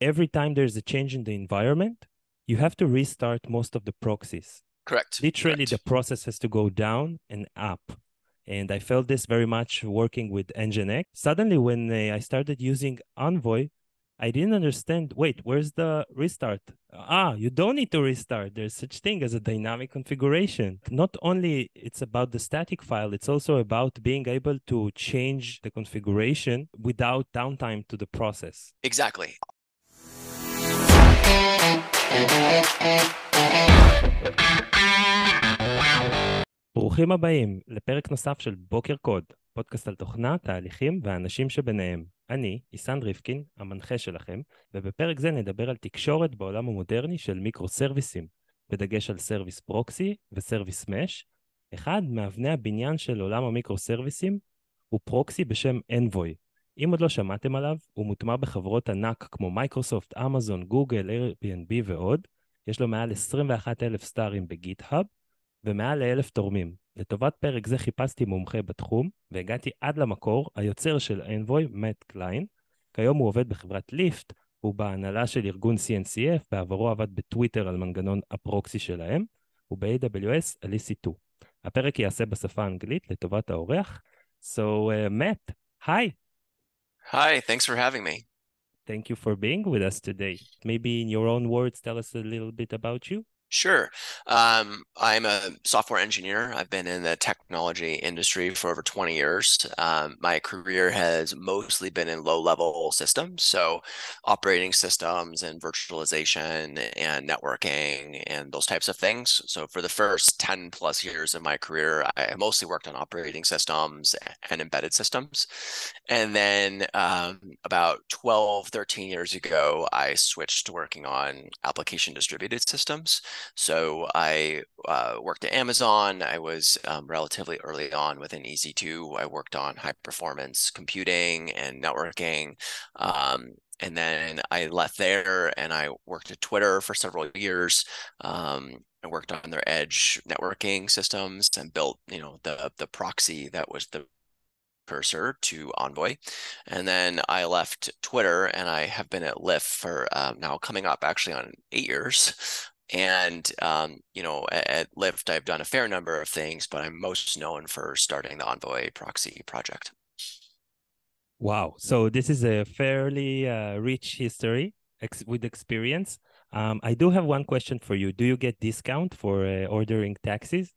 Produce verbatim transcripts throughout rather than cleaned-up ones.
every time there's a change in the environment, you have to restart most of the proxies. Correct. Literally, Correct. the process has to go down and up. And I felt this very much working with Nginx. Suddenly, when uh, I started using Envoy, I didn't understand, wait, where's the restart? Ah, you don't need to restart. There's such thing as a dynamic configuration. Not only it's about the static file, it's also about being able to change the configuration without downtime to the process. Exactly. ברוכים הבאים לפרק נוסף של בוקר קוד, פודקאסט על תוכנה, תהליכים והאנשים שביניהם. אני, איסן ריפקין, המנחה שלכם, ובפרק זה נדבר על תקשורת בעולם המודרני של מיקרו-סרוויסים, בדגש על סרוויס פרוקסי וסרוויס מש. אחד מאבני הבניין של עולם המיקרו-סרוויסים הוא פרוקסי בשם Envoy. אם עוד לא שמעתם עליו, הוא מוטמע בחברות ענק כמו מייקרוסופט, אמזון, גוגל, Airbnb ועוד. יש לו מעל עשרים ואחד אלף סטארים בגיט-האב, ומעל לאלף תורמים. לטובת פרק זה חיפשתי מומחה בתחום, והגעתי עד למקור, היוצר של Envoy, מאט קליין. כיום הוא עובד בחברת ליפט, הוא בהנהלה של ארגון סי אן סי אף, בעברו עבד בטוויטר על מנגנון הפרוקסי שלהם, ובאי דאבליו אס על אי סי טו. הפרק יעשה בשפה האנגלית לטובת האורח. So, uh, Matt, hi. Hi, thanks for having me. Thank you for being with us today. Maybe in your own words, tell us a little bit about you. Sure. Um, I'm a software engineer. I've been in the technology industry for over twenty years. Um, my career has mostly been in low-level systems, so operating systems and virtualization and networking and those types of things. So for the first ten plus years of my career, I mostly worked on operating systems and embedded systems. And then um, about twelve, thirteen years ago, I switched to working on application distributed systems. So I uh, worked at Amazon. I was um, relatively early on within E C two. I worked on high performance computing and networking. Um, and then I left there and I worked at Twitter for several years. Um, I worked on their edge networking systems and built, you know, the, the proxy that was the cursor to Envoy. And then I left Twitter and I have been at Lyft for um, now coming up actually on eight years. And, um, you know, at, at Lyft, I've done a fair number of things, but I'm most known for starting the Envoy proxy project. Wow. So this is a fairly uh, rich history ex with experience. Um, I do have one question for you. Do you get discount for uh, ordering taxis?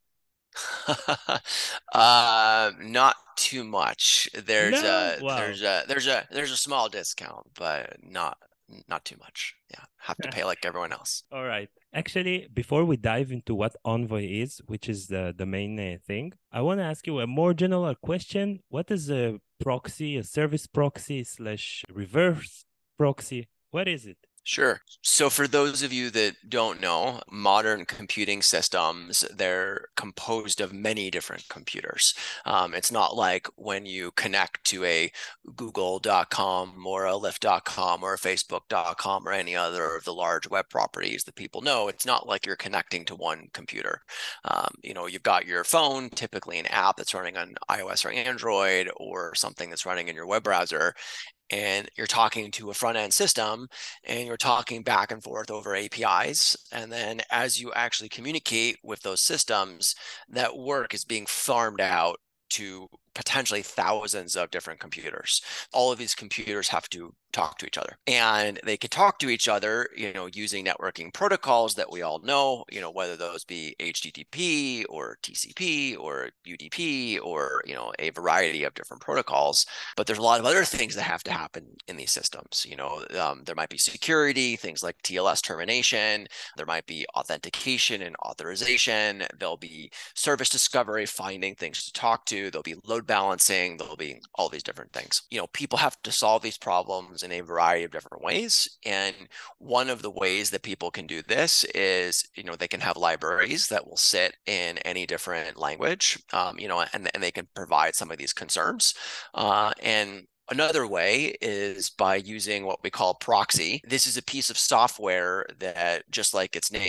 uh, not too much. There's No? a Wow. there's a there's a there's a small discount, but not not too much. Yeah, have to pay like everyone else. All right. Actually, before we dive into what Envoy is, which is the the main uh, thing, I want to ask you a more general question. What is a proxy, a service proxy slash reverse proxy? What is it? Sure. So for those of you that don't know, modern computing systems, they're composed of many different computers. Um, it's not like when you connect to a google dot com or a lyft dot com or a facebook dot com or any other of the large web properties that people know. It's not like you're connecting to one computer. Um, you know, you've got your phone, typically an app that's running on iOS or Android or something that's running in your web browser. And you're talking to a front-end system and you're talking back and forth over A P Is. And then as you actually communicate with those systems, that work is being farmed out to potentially thousands of different computers. All of these computers have to talk to each other, and they can talk to each other, you know, using networking protocols that we all know, you know, whether those be H T T P or T C P or U D P or, you know, a variety of different protocols. But there's a lot of other things that have to happen in these systems. You know, um, there might be security, things like T L S termination. There might be authentication and authorization. There'll be service discovery, finding things to talk to. There'll be load balancing. There'll be all these different things. You know, people have to solve these problems in a variety of different ways. And one of the ways that people can do this is, you know, they can have libraries that will sit in any different language, um, you know, and, and they can provide some of these concerns. Uh, and Another way is by using what we call proxy. This is a piece of software that, just like its name,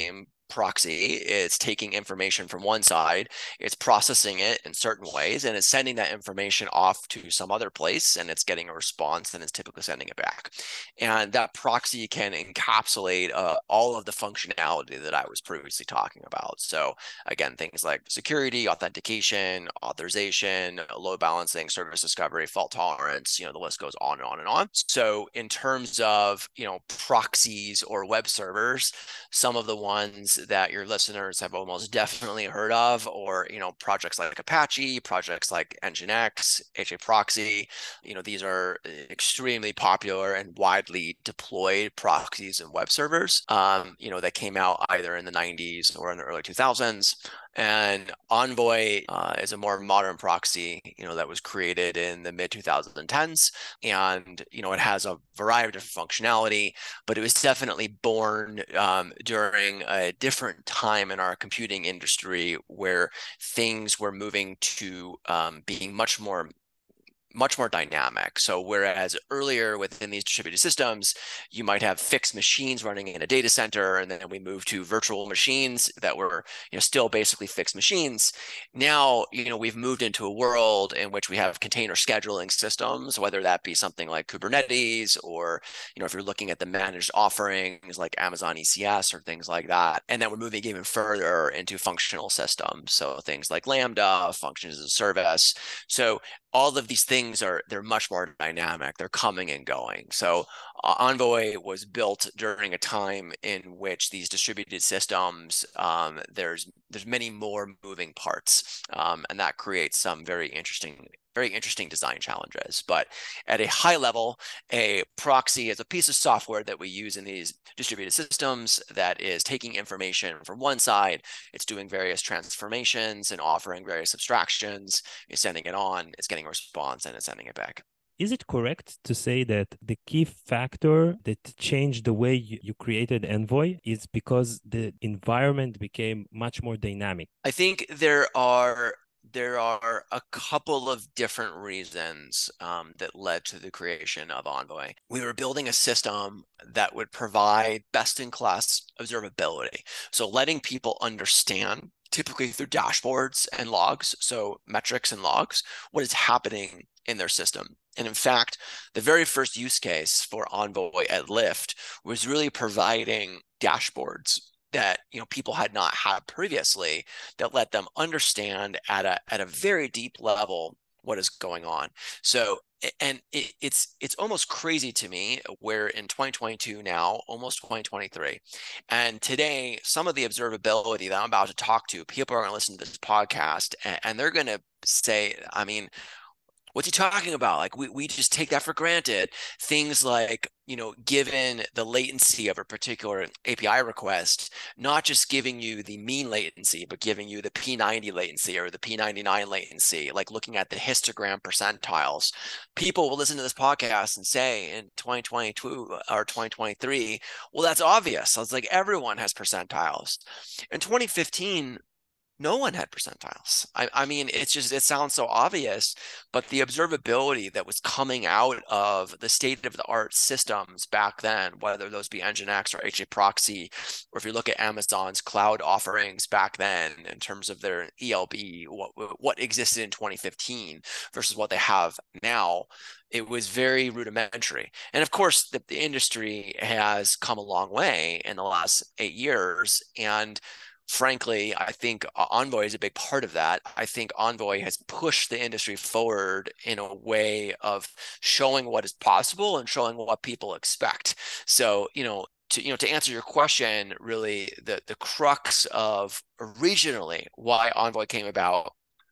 proxy. It's taking information from one side, it's processing it in certain ways, and it's sending that information off to some other place, and it's getting a response, and it's typically sending it back. And that proxy can encapsulate uh, all of the functionality that I was previously talking about. So again, things like security, authentication, authorization, load balancing, service discovery, fault tolerance, you know, the list goes on and on and on. So in terms of, you know, proxies or web servers, some of the ones that your listeners have almost definitely heard of, or, you know, projects like Apache, projects like Nginx, HAProxy, you know, these are extremely popular and widely deployed proxies and web servers, um, you know, that came out either in the nineties or in the early two thousands. And Envoy uh, is a more modern proxy, you know, that was created in the mid twenty tens. And, you know, it has a variety of different functionality, but it was definitely born um, during a different time in our computing industry where things were moving to um, being much more much more dynamic. So whereas earlier within these distributed systems, you might have fixed machines running in a data center, and then we moved to virtual machines that were, you know, still basically fixed machines. Now, you know, we've moved into a world in which we have container scheduling systems, whether that be something like Kubernetes, or, you know, if you're looking at the managed offerings like Amazon E C S or things like that. And then we're moving even further into functional systems. So things like Lambda, functions as a service. So all of these things are, they're much more dynamic. They're coming and going. So uh, Envoy was built during a time in which these distributed systems, um, there's there's many more moving parts, um, and that creates some very interesting very interesting design challenges. But at a high level, a proxy is a piece of software that we use in these distributed systems that is taking information from one side, it's doing various transformations and offering various abstractions, it's sending it on, it's getting a response, and it's sending it back. Is it correct to say that the key factor that changed the way you, you created Envoy is because the environment became much more dynamic? I think there are there are a couple of different reasons um, that led to the creation of Envoy. We were building a system that would provide best-in-class observability. So letting people understand, typically through dashboards and logs, so metrics and logs, what is happening in their system. And in fact, the very first use case for Envoy at Lyft was really providing dashboards that, you know, people had not had previously, that let them understand at a at a very deep level what is going on. So, and it, it's it's almost crazy to me, we're in twenty twenty-two now, almost twenty twenty-three, and today some of the observability that I'm about to talk to, people are going to listen to this podcast, and, and they're going to say, I mean, what's he talking about? Like, we, we just take that for granted. Things like, you know, given the latency of a particular A P I request, not just giving you the mean latency, but giving you the P ninety latency or the P ninety-nine latency, like looking at the histogram percentiles. People will listen to this podcast and say in twenty twenty-two or twenty twenty-three, well, that's obvious. I was like, everyone has percentiles. In twenty fifteen, no one had percentiles. I, I mean, it's just, it sounds so obvious, but the observability that was coming out of the state-of-the-art systems back then, whether those be Nginx or HAProxy, or if you look at Amazon's cloud offerings back then in terms of their E L B, what, what existed in twenty fifteen versus what they have now, it was very rudimentary. And of course, the, the industry has come a long way in the last eight years. And frankly, I think Envoy is a big part of that. I think Envoy has pushed the industry forward in a way of showing what is possible and showing what people expect. So, you know, to, you know, to answer your question, really the, the crux of originally why Envoy came about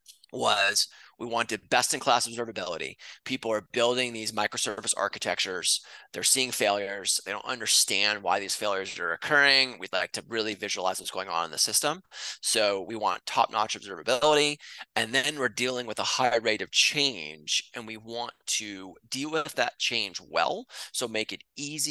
was we wanted best-in-class observability. People are building these microservice architectures. They're seeing failures. They don't understand why these failures are occurring. We'd like to really visualize what's going on in the system. So we want top-notch observability. And then we're dealing with a high rate of change, and we want to deal with that change well. So make it easy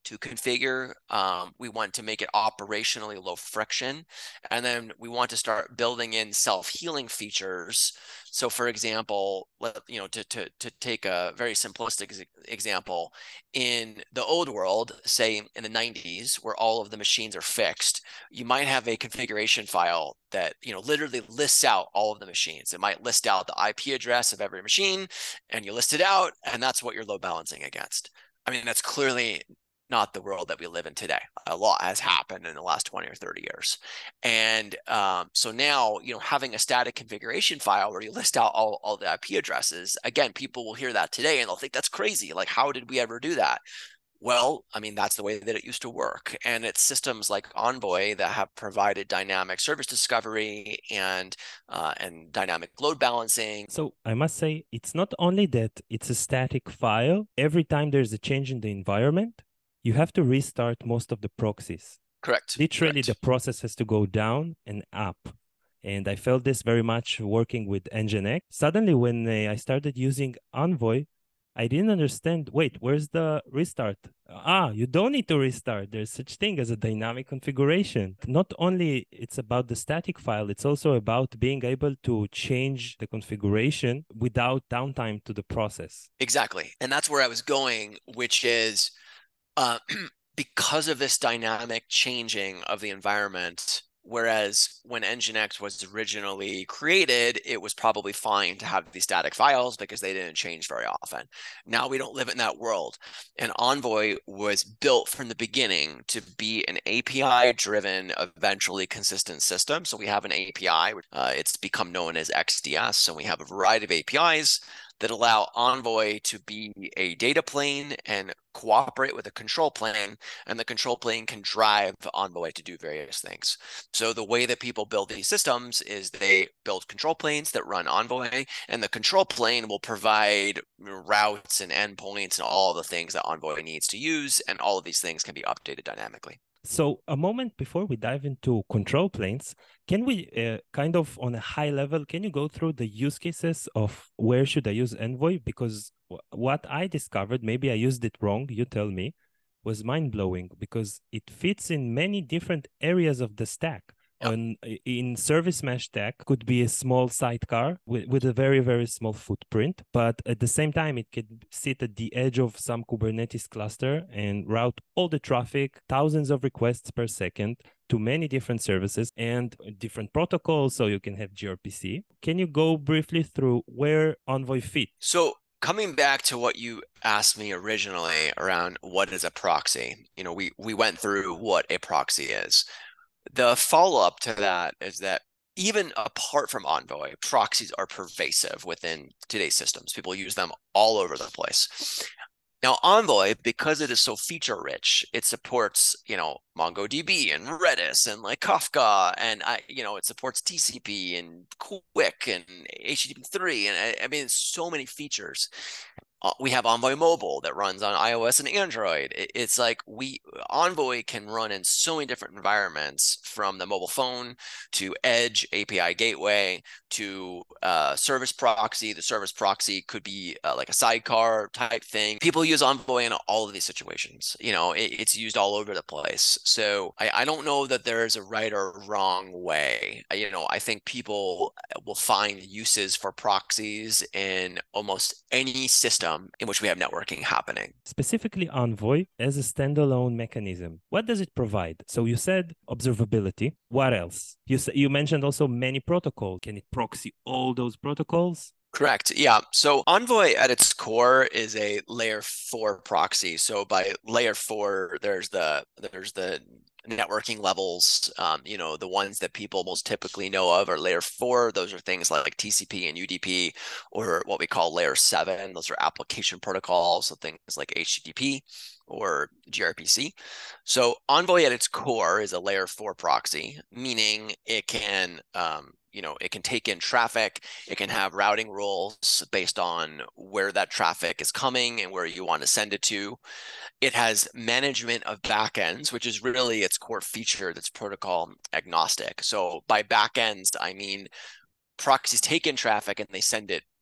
to configure. Um, we want to make it operationally low friction. And then we want to start building in self-healing features. So for example, let, you know, to, to, to take a very simplistic example, in the old world, say in the nineties, where all of the machines are fixed, you might have a configuration file that, you know, literally lists out all of the machines. It might list out the I P address of every machine, and you list it out, and that's what you're load balancing against. I mean, that's clearly not the world that we live in today. A lot has happened in the last twenty or thirty years. And um, so now, you know, having a static configuration file where you list out all, all the I P addresses, again, people will hear that today and they'll think that's crazy. Like, how did we ever do that? Well, I mean, that's the way that it used to work. And it's systems like Envoy that have provided dynamic service discovery and uh, and dynamic load balancing. So I must say, it's not only that it's a static file. Every time there's a change in the environment, you have to restart most of the proxies. Correct. Literally, Correct. the process has to go down and up. And I felt this very much working with Nginx. Suddenly, when uh, I started using Envoy, I didn't understand, wait, where's the restart? Ah, you don't need to restart. There's such thing as a dynamic configuration. Not only it's about the static file, it's also about being able to change the configuration without downtime to the process. Exactly. And that's where I was going, which is uh, because of this dynamic changing of the environment. Whereas when Nginx was originally created, it was probably fine to have these static files because they didn't change very often. Now we don't live in that world. And Envoy was built from the beginning to be an A P I-driven, eventually consistent system. So we have an A P I. Uh, it's become known as X D S. So we have a variety of A P Is that allow Envoy to be a data plane and cooperate with a control plane, and the control plane can drive Envoy to do various things. So the way that people build these systems is they build control planes that run Envoy, and the control plane will provide routes and endpoints and all of the things that Envoy needs to use, and all of these things can be updated dynamically. So a moment before we dive into control planes, can we uh, kind of on a high level, can you go through the use cases of where should I use Envoy? Because w- what I discovered, maybe I used it wrong, you tell me, was mind-blowing because it fits in many different areas of the stack. Yep. On, in service mesh stack could be a small sidecar with, with a very, very small footprint, but at the same time, it could sit at the edge of some Kubernetes cluster and route all the traffic, thousands of requests per second to many different services and different protocols, so you can have gRPC. Can you go briefly through where Envoy fits? So coming back to what you asked me originally around what is a proxy, you know, we, we went through what a proxy is. The follow-up to that is that even apart from Envoy, proxies are pervasive within today's systems. People use them all over the place. Now, Envoy, because it is so feature-rich, it supports, you know, MongoDB and Redis and like Kafka, and I, you know, it supports T C P and Quick and H T T P three, and I, I mean, so many features. Uh, we have Envoy Mobile that runs on iOS and Android. It, it's like we Envoy can run in so many different environments, from the mobile phone to Edge A P I gateway to uh, service proxy. The service proxy could be uh, like a sidecar type thing. People use Envoy in all of these situations. You know, it, it's used all over the place. So I, I don't know that there is a right or wrong way. You know, I think people will find uses for proxies in almost any system in which we have networking happening. Specifically Envoy as a standalone mechanism, what does it provide? So you said observability. What else? You you mentioned also many protocols. Can it proxy all those protocols? Correct. Yeah. So Envoy at its core is a layer four proxy. So by layer four, there's the there's the networking levels. Um, you know, the ones that people most typically know of are layer four. Those are things like T C P and U D P, or what we call layer seven. Those are application protocols, so things like H T T P or gRPC. So Envoy at its core is a layer four proxy, meaning it can um, you know, it can take in traffic. It can have routing rules based on where that traffic is coming and where you want to send it to. It has management of backends, which is really its core feature that's protocol agnostic. So by backends, I mean proxies take in traffic and they send it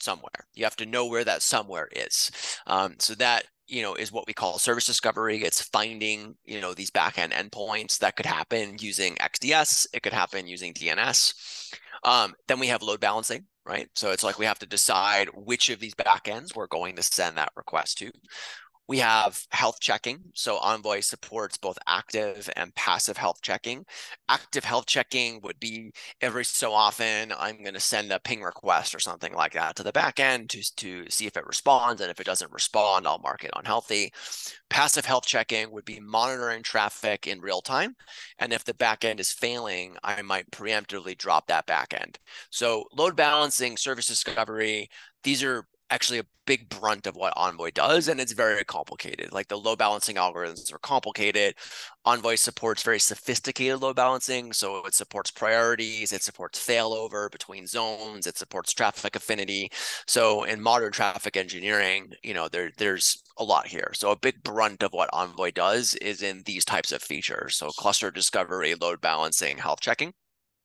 somewhere. You have to know where that somewhere is. Um, so that, you know, is what we call service discovery. It's finding, you know, these backend endpoints. That could happen using X D S. It could happen using D N S. Um, then we have load balancing, right? So it's like we have to decide which of these backends we're going to send that request to. We have health checking. So Envoy supports both active and passive health checking. Active health checking would be every so often, I'm going to send a ping request or something like that to the backend to, to see if it responds. And if it doesn't respond, I'll mark it unhealthy. Passive health checking would be monitoring traffic in real time. And if the backend is failing, I might preemptively drop that backend. So load balancing, service discovery, these are actually a big brunt of what Envoy does, and it's very complicated. Like the load balancing algorithms are complicated. Envoy supports very sophisticated load balancing, so it supports priorities, it supports failover between zones, it supports traffic affinity. So in modern traffic engineering, you know, there there's a lot here. So a big brunt of what Envoy does is in these types of features. So cluster discovery, load balancing, health checking.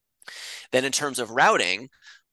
Then in terms of routing,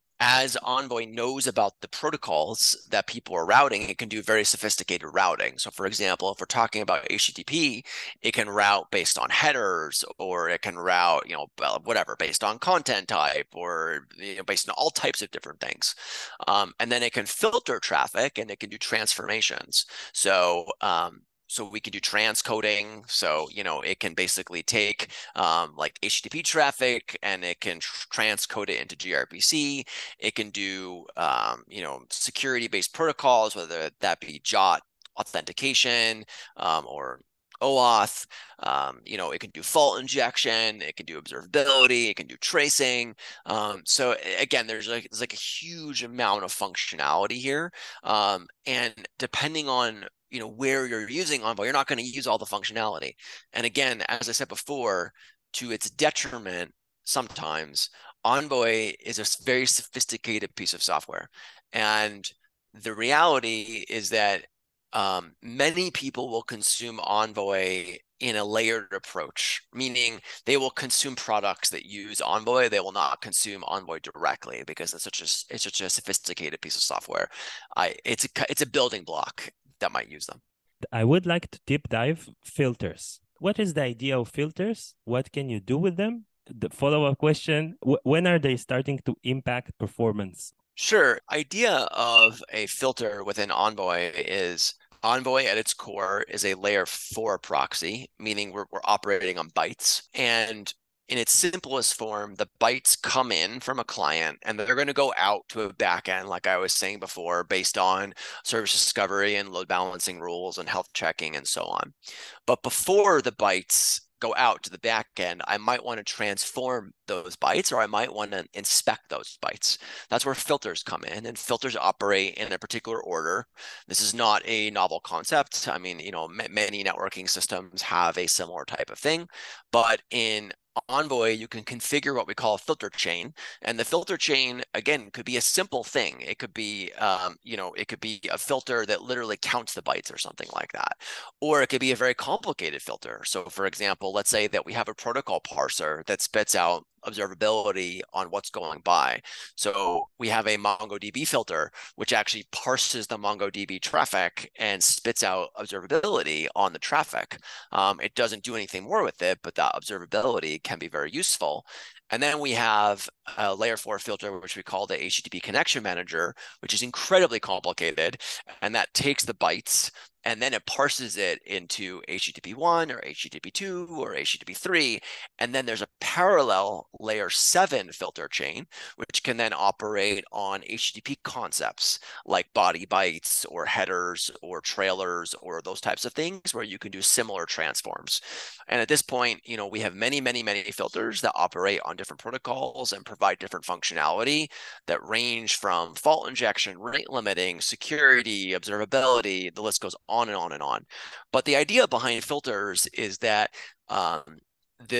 as Envoy knows about the protocols that people are routing, it can do very sophisticated routing. So for example, if we're talking about H T T P, it can route based on headers, or it can route, you know, whatever, based on content type, or you know, based on all types of different things. Um, and then it can filter traffic, and it can do transformations. So um, So we can do transcoding. So, you know, it can basically take um, like H T T P traffic, and it can tr transcode it into gRPC. It can do, um, you know, security-based protocols, whether that be J O T authentication um, or OAuth. Um, you know, it can do fault injection. It can do observability. It can do tracing. Um, so again, there's like there's like a huge amount of functionality here, um, and depending on you know where you're using Envoy, you're not going to use all the functionality. And again, as I said before, to its detriment, sometimes Envoy is a very sophisticated piece of software, and the reality is that um, many people will consume Envoy in a layered approach, meaning they will consume products that use Envoy. They will not consume Envoy directly because it's such a it's such a sophisticated piece of software. I it's a it's a building block that might use them. I would like to deep dive filters. What is the idea of filters? What can you do with them? The follow-up question, when are they starting to impact performance? Sure. Idea of a filter within Envoy is Envoy at its core is a layer four proxy, meaning we're, we're operating on bytes. And in its simplest form, the bytes come in from a client, and they're going to go out to a backend, like I was saying before, based on service discovery and load balancing rules and health checking and so on. But before the bytes go out to the back end, I might want to transform those bytes, or I might want to inspect those bytes. That's where filters come in, and filters operate in a particular order. This is not a novel concept. I mean, you know, many networking systems have a similar type of thing, but in Envoy, you can configure what we call a filter chain, and the filter chain, again, could be a simple thing. It could be, um, you know, it could be a filter that literally counts the bytes or something like that, or it could be a very complicated filter. So, for example, let's say that we have a protocol parser that spits out observability on what's going by. So we have a MongoDB filter, which actually parses the MongoDB traffic and spits out observability on the traffic. Um, it doesn't do anything more with it, but that observability can be very useful. And then we have a layer four filter, which we call the H T T P connection manager, which is incredibly complicated. And that takes the bytes and then it parses it into H T T P one or H T T P two or H T T P three. And then there's a parallel layer seven filter chain, which can then operate on H T T P concepts like body bytes or headers or trailers or those types of things where you can do similar transforms. And at this point, you know, we have many, many, many filters that operate on different protocols and provide different functionality that range from fault injection, rate limiting, security, observability, the list goes on and on and on. But the idea behind filters is that um, the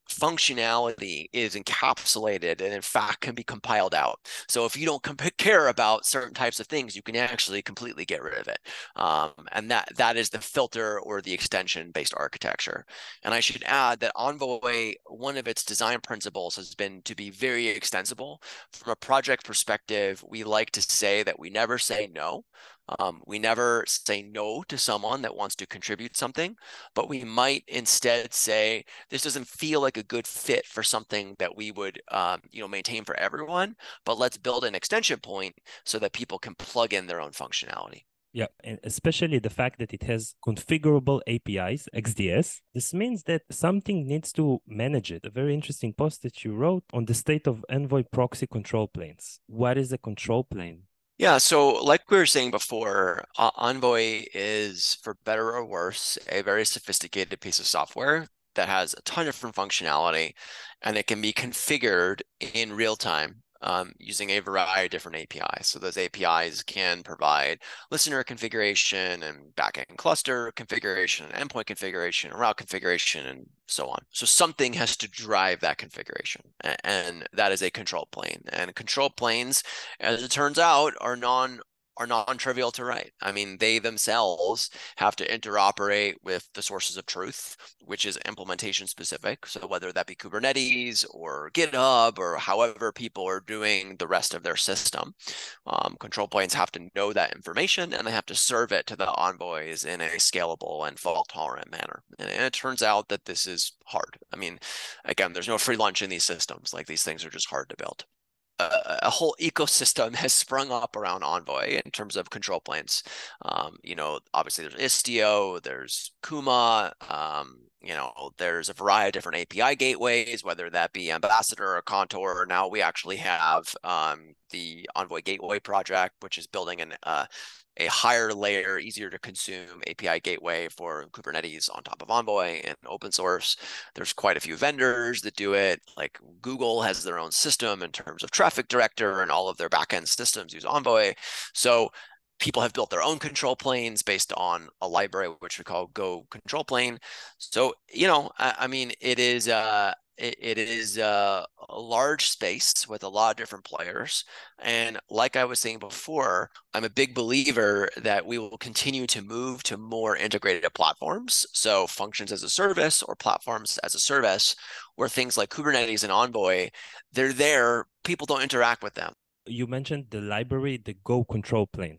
functionality is encapsulated and in fact can be compiled out. So if you don't care about certain types of things, you can actually completely get rid of it. Um, and that that is the filter or the extension based architecture. And I should add that Envoy, one of its design principles has been to be very extensible. From a project perspective, we like to say that we never say no. Um, we never say no to someone that wants to contribute something, but we might instead say, this doesn't feel like a good fit for something that we would um, you know, maintain for everyone, but let's build an extension point so that people can plug in their own functionality. Yeah, and especially the fact that it has configurable A P Is, X D S. This means that something needs to manage it. A very interesting post that you wrote on the state of Envoy proxy control planes. What is a control plane? Yeah, so like we were saying before, uh, Envoy is, for better or worse, a very sophisticated piece of software that has a ton of different functionality, and it can be configured in real time um, using a variety of different A P Is. So those A P Is can provide listener configuration and backend cluster configuration, and endpoint configuration, and route configuration, and so on. So something has to drive that configuration, and that is a control plane. And control planes, as it turns out, are non are non-trivial to write. I mean, they themselves have to interoperate with the sources of truth, which is implementation specific. So whether that be Kubernetes or GitHub or however people are doing the rest of their system, um, control planes have to know that information, and they have to serve it to the envoys in a scalable and fault-tolerant manner. And it turns out that this is hard. I mean, again, there's no free lunch in these systems. Like, these things are just hard to build. A, a whole ecosystem has sprung up around Envoy in terms of control planes. Um, you know, obviously there's Istio, there's Kuma, um, you know, there's a variety of different A P I gateways, whether that be Ambassador or Contour. Now we actually have um, the Envoy Gateway project, which is building an uh, a higher layer, easier to consume A P I gateway for Kubernetes on top of Envoy and open source. There's quite a few vendors that do it. Like Google has their own system in terms of traffic director, and all of their backend systems use Envoy. So people have built their own control planes based on a library, which we call Go control plane. So, you know, I, I mean, it is, uh, it, it is uh, a large space with a lot of different players. And like I was saying before, I'm a big believer that we will continue to move to more integrated platforms. So functions as a service or platforms as a service, where things like Kubernetes and Envoy, they're there, people don't interact with them. You mentioned the library, the Go control plane.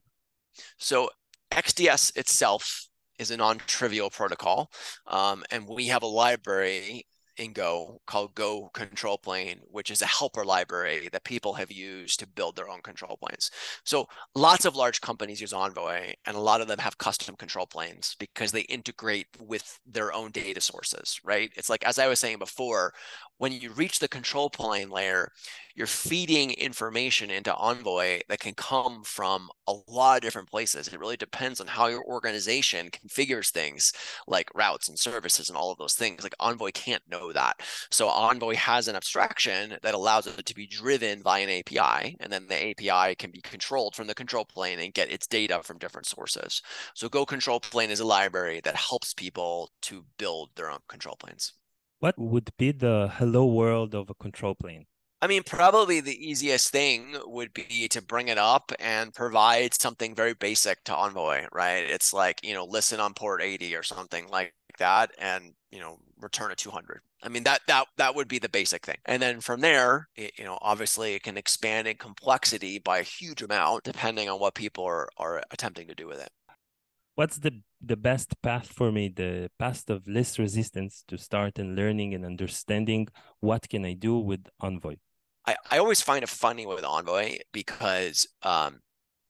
So X D S itself is a non-trivial protocol, um, and we have a library in Go called Go control plane, which is a helper library that people have used to build their own control planes. So lots of large companies use Envoy, and a lot of them have custom control planes because they integrate with their own data sources, right? It's like, as I was saying before, when you reach the control plane layer, you're feeding information into Envoy that can come from a lot of different places. It really depends on how your organization configures things like routes and services and all of those things. Like, Envoy can't know that. So Envoy has an abstraction that allows it to be driven by an A P I, and then the A P I can be controlled from the control plane and get its data from different sources. So Go control plane is a library that helps people to build their own control planes. What would be the hello world of a control plane? I mean, probably the easiest thing would be to bring it up and provide something very basic to Envoy, right? It's like, you know, listen on port eighty or something like that, and, you know, return a two hundred. I mean, that that that would be the basic thing. And then from there, it, you know, obviously it can expand in complexity by a huge amount depending on what people are, are attempting to do with it. What's the the best path for me, the path of least resistance to start and learning and understanding what can I do with Envoy? I, I always find it funny with Envoy because um,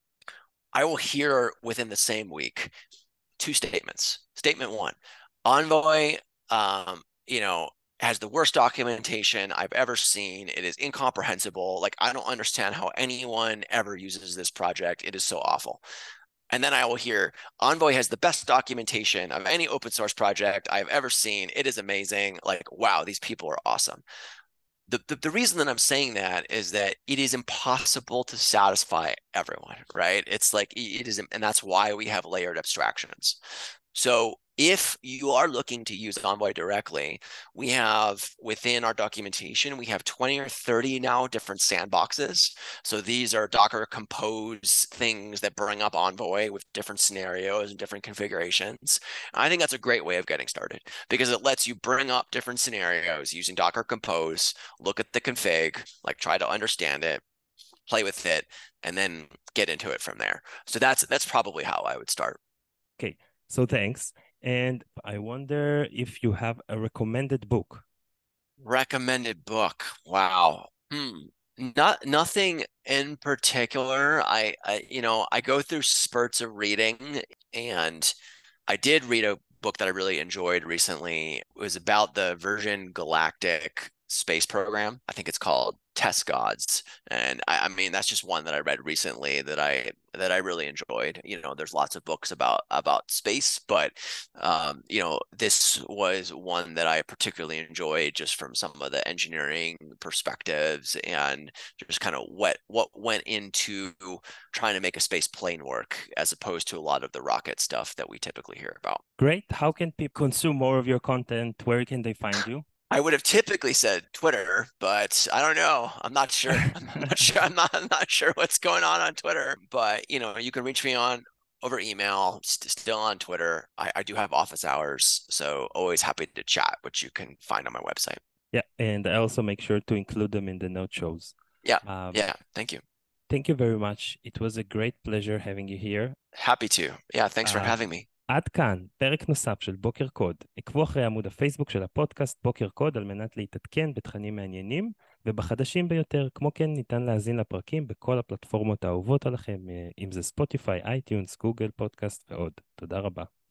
I will hear within the same week two statements. Statement one, Envoy, um, you know, has the worst documentation I've ever seen. It is incomprehensible. Like, I don't understand how anyone ever uses this project. It is so awful. And then I will hear, Envoy has the best documentation of any open source project I've ever seen. It is amazing. Like, wow, these people are awesome. The, the, the reason that I'm saying that is that it is impossible to satisfy everyone, right? It's like, it is, and that's why we have layered abstractions. So If you are looking to use Envoy directly, we have within our documentation, we have twenty or thirty now different sandboxes. So these are Docker Compose things that bring up Envoy with different scenarios and different configurations. I think that's a great way of getting started because it lets you bring up different scenarios using Docker Compose, look at the config, like try to understand it, play with it, and then get into it from there. So that's that's probably how I would start. Okay, so thanks. And I wonder if you have a recommended book. Recommended book. Wow. Hmm. Not nothing in particular. I, I, you know, I go through spurts of reading, and I did read a book that I really enjoyed recently. It was about the Virgin Galactic space program. I think it's called Test Gods. And I, I mean, that's just one that I read recently that I that I really enjoyed. You know, there's lots of books about about space, but um, you know, this was one that I particularly enjoyed just from some of the engineering perspectives and just kind of what what went into trying to make a space plane work as opposed to a lot of the rocket stuff that we typically hear about. Great. How can people consume more of your content? Where can they find you? I would have typically said Twitter, but I don't know. I'm not sure. I'm not sure. I'm not, I'm not sure what's going on on Twitter, but you know, you can reach me on over email, st- still on Twitter. I, I do have office hours, so always happy to chat, which you can find on my website. Yeah, and I also make sure to include them in the note shows. Yeah. Um, Yeah. Thank you. Thank you very much. It was a great pleasure having you here. Happy to. Yeah. Thanks for Uh, having me. עד כאן, פרק נוסף של בוקר קוד. עקבו אחרי עמוד הפייסבוק של הפודקאסט בוקר קוד על מנת להתעדכן בתכנים מעניינים ובחדשים ביותר. כמו כן, ניתן להאזין לפרקים בכל הפלטפורמות האהובות עליכם, אם זה ספוטיפיי, אייטיונס, גוגל פודקאסט ועוד. תודה רבה.